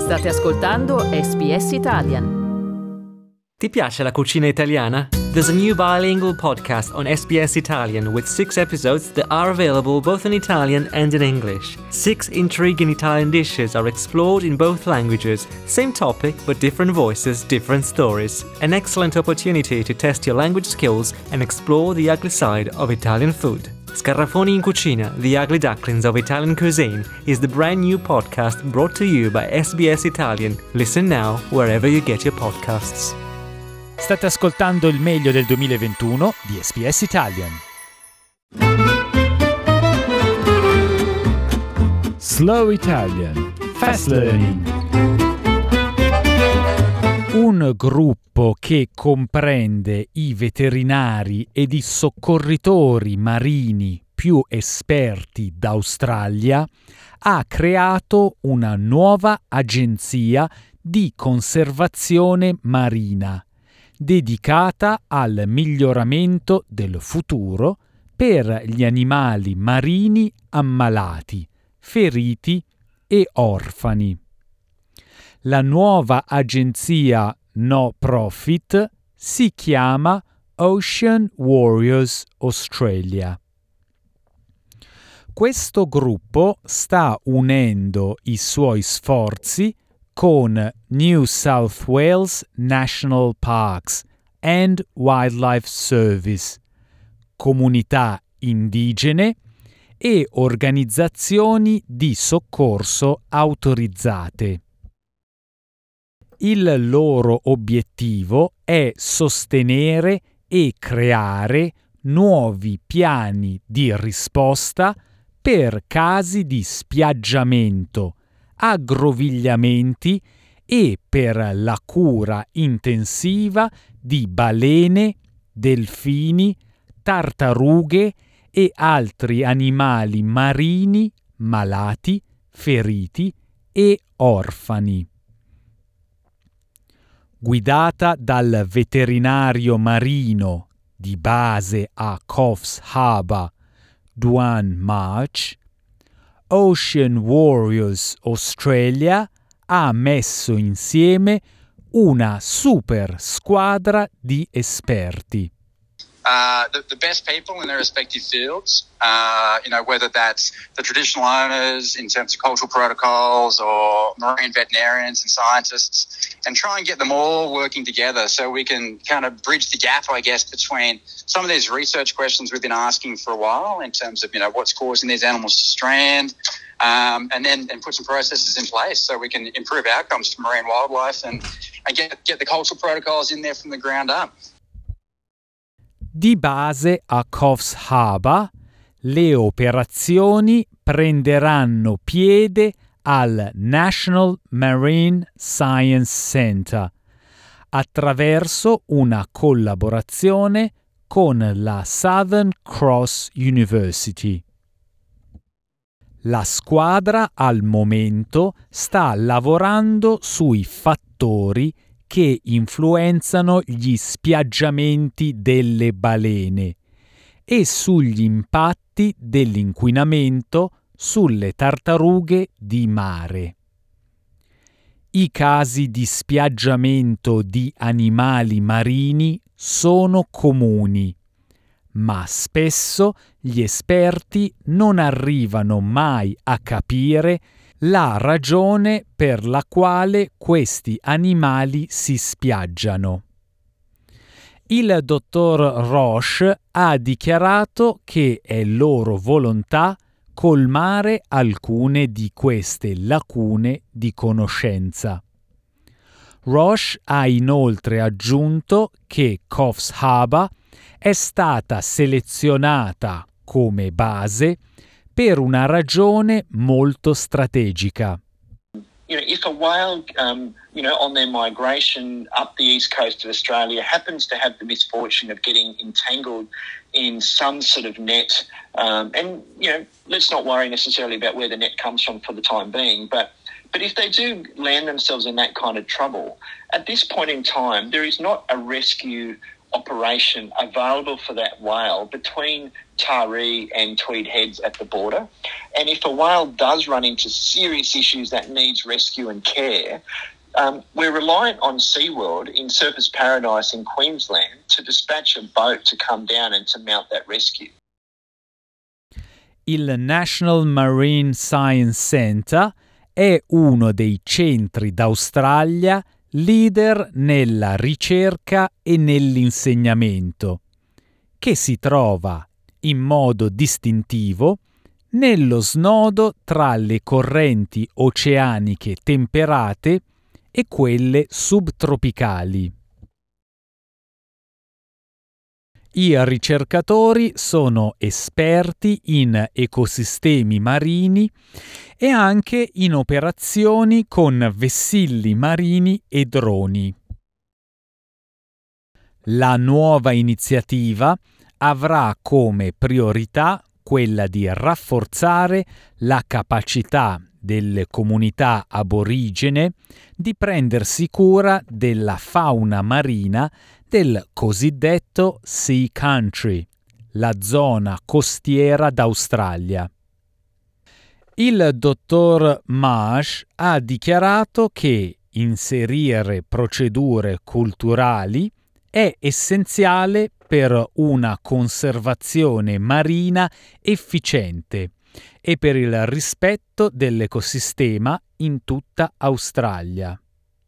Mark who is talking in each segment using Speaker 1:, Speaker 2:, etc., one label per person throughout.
Speaker 1: State ascoltando SBS Italian.
Speaker 2: Ti piace la cucina italiana? There's a new bilingual podcast on SBS Italian with 6 episodes that are available both in Italian and in English. 6 intriguing Italian dishes are explored in both languages. Same topic, but different voices, different stories. An excellent opportunity to test your language skills and explore the ugly side of Italian food. Scarafoni in Cucina, The Ugly Ducklings of Italian Cuisine is the brand new podcast brought to you by SBS Italian. Listen now wherever you get your podcasts.
Speaker 3: State ascoltando il meglio del 2021 di SBS Italian. Slow Italian Fast Learning. Un gruppo che comprende i veterinari ed i soccorritori marini più esperti d'Australia ha creato una nuova agenzia di conservazione marina dedicata al miglioramento del futuro per gli animali marini ammalati, feriti e orfani. La nuova agenzia no profit si chiama Ocean Warriors Australia. Questo gruppo sta unendo i suoi sforzi con New South Wales National Parks and Wildlife Service, comunità indigene e organizzazioni di soccorso autorizzate. Il loro obiettivo è sostenere e creare nuovi piani di risposta per casi di spiaggiamento, aggrovigliamenti e per la cura intensiva di balene, delfini, tartarughe e altri animali marini malati, feriti e orfani. Guidata dal veterinario marino di base a Coffs Harbour, Duane March, Ocean Warriors Australia ha messo insieme una super squadra di esperti.
Speaker 4: The best people in their respective fields, whether that's the traditional owners in terms of cultural protocols or marine veterinarians and scientists, and try and get them all working together so we can kind of bridge the gap, I guess, between some of these research questions we've been asking for a while in terms of, what's causing these animals to strand, and put some processes in place so we can improve outcomes for marine wildlife and get the cultural protocols in there from the ground up.
Speaker 3: Di base a Coffs Harbour, le operazioni prenderanno piede al National Marine Science Centre attraverso una collaborazione con la Southern Cross University. La squadra al momento sta lavorando sui fattori che influenzano gli spiaggiamenti delle balene e sugli impatti dell'inquinamento sulle tartarughe di mare. I casi di spiaggiamento di animali marini sono comuni, ma spesso gli esperti non arrivano mai a capire la ragione per la quale questi animali si spiaggiano. Il dottor Roche ha dichiarato che è loro volontà colmare alcune di queste lacune di conoscenza. Roche ha inoltre aggiunto che Coffs Harbour è stata selezionata come base per una ragione molto strategica.
Speaker 5: If a whale, on their migration up the east coast of Australia happens to have the misfortune of getting entangled in some sort of net, let's not worry necessarily about where the net comes from for the time being, but if they do land themselves in that kind of trouble, at this point in time, there is not a rescue operation available for that whale between Taree and Tweed Heads at the border. And if a whale does run into serious issues that needs rescue and care, we're reliant on SeaWorld in Surfers Paradise in Queensland to dispatch a boat to come down and to mount that rescue.
Speaker 3: Il National Marine Science Centre è uno dei centri d'Australia leader nella ricerca e nell'insegnamento, che si trova in modo distintivo nello snodo tra le correnti oceaniche temperate e quelle subtropicali. I ricercatori sono esperti in ecosistemi marini e anche in operazioni con vessilli marini e droni. La nuova iniziativa avrà come priorità quella di rafforzare la capacità delle comunità aborigene di prendersi cura della fauna marina del cosiddetto Sea Country, la zona costiera d'Australia. Il dottor Marsh ha dichiarato che inserire procedure culturali è essenziale per una conservazione marina efficiente e per il rispetto dell'ecosistema in tutta Australia.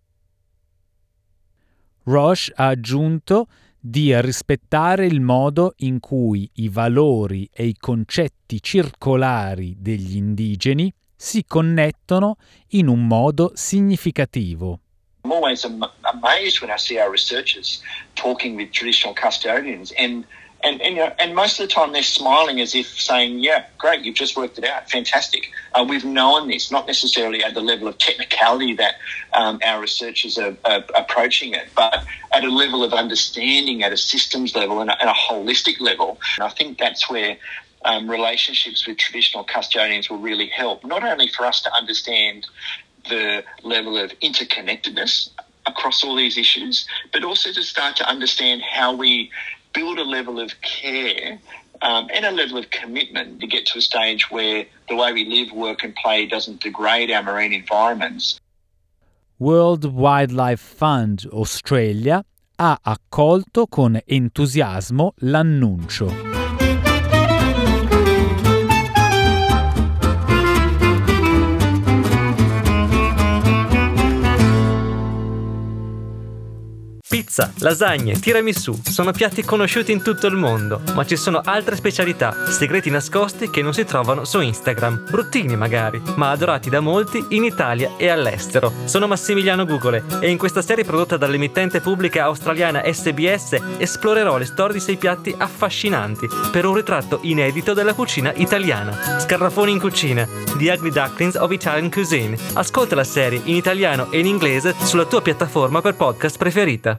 Speaker 3: Roche ha aggiunto di rispettare il modo in cui i valori e i concetti circolari degli indigeni si connettono in un modo significativo.
Speaker 5: I'm always amazed when I see our researchers talking with traditional custodians and most of the time they're smiling as if saying, yeah, great, you've just worked it out, fantastic. We've known this, not necessarily at the level of technicality that our researchers are approaching it, but at a level of understanding at a systems level and a holistic level. And I think that's where relationships with traditional custodians will really help, not only for us to understand the level of interconnectedness across all these issues, but also to start to understand how we build a level of care and a level of commitment to get to a stage where the way we live, work and play doesn't degrade our marine environments.
Speaker 3: World Wildlife Fund Australia ha accolto con entusiasmo l'annuncio.
Speaker 2: Pizza, lasagne, tiramisù sono piatti conosciuti in tutto il mondo, ma ci sono altre specialità, segreti nascosti che non si trovano su Instagram, bruttini magari, ma adorati da molti in Italia e all'estero. Sono Massimiliano Gugole e in questa serie prodotta dall'emittente pubblica australiana SBS esplorerò le storie di 6 piatti affascinanti per un ritratto inedito della cucina italiana. Scarafoni in cucina, The Ugly Ducklings of Italian Cuisine. Ascolta la serie in italiano e in inglese sulla tua piattaforma per podcast preferita.